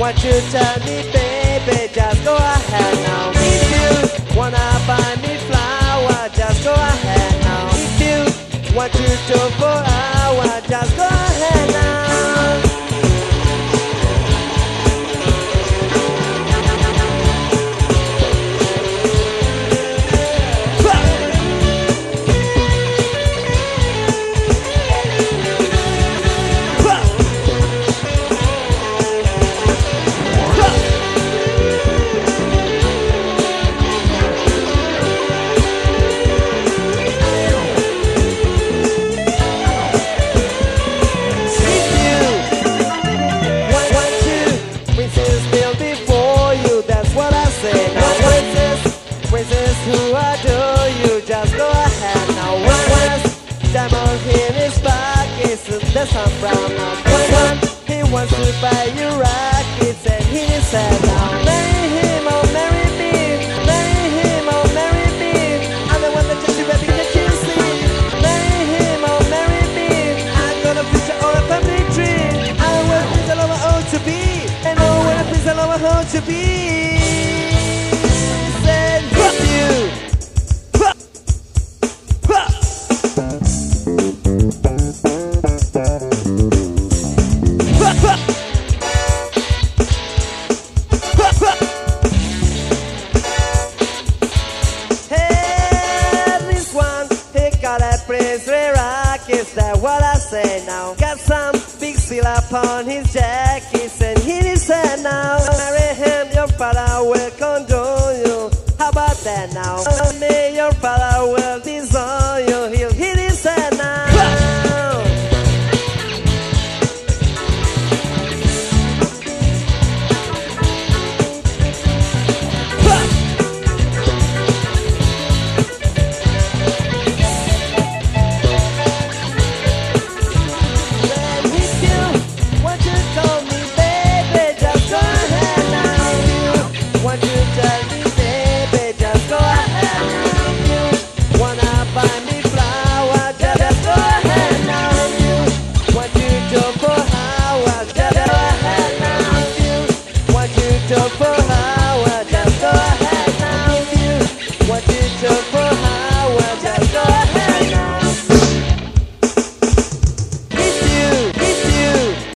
Won't you tell me, baby, just go ahead now. If you wanna buy me flower, just go ahead now. If you want to talk for hours, just go ahead now. Who adore you, just go ahead now. One diamond in his pockets and the sun brown now. One, he wants to buy you rockets and he said now. Marry him or marry me, marry him or marry me. I'm the one that just you baby, can't you see? Marry him or marry me. I'm gonna picture or a family tree. I will please allow my own to be, and I will please allow my own to be. Is that what I say now? Got some big seal upon his jacket and hit his head now. Marry him, your father will condone you. How about that now? Me, your father will disown you. He'll hit his head now. Tell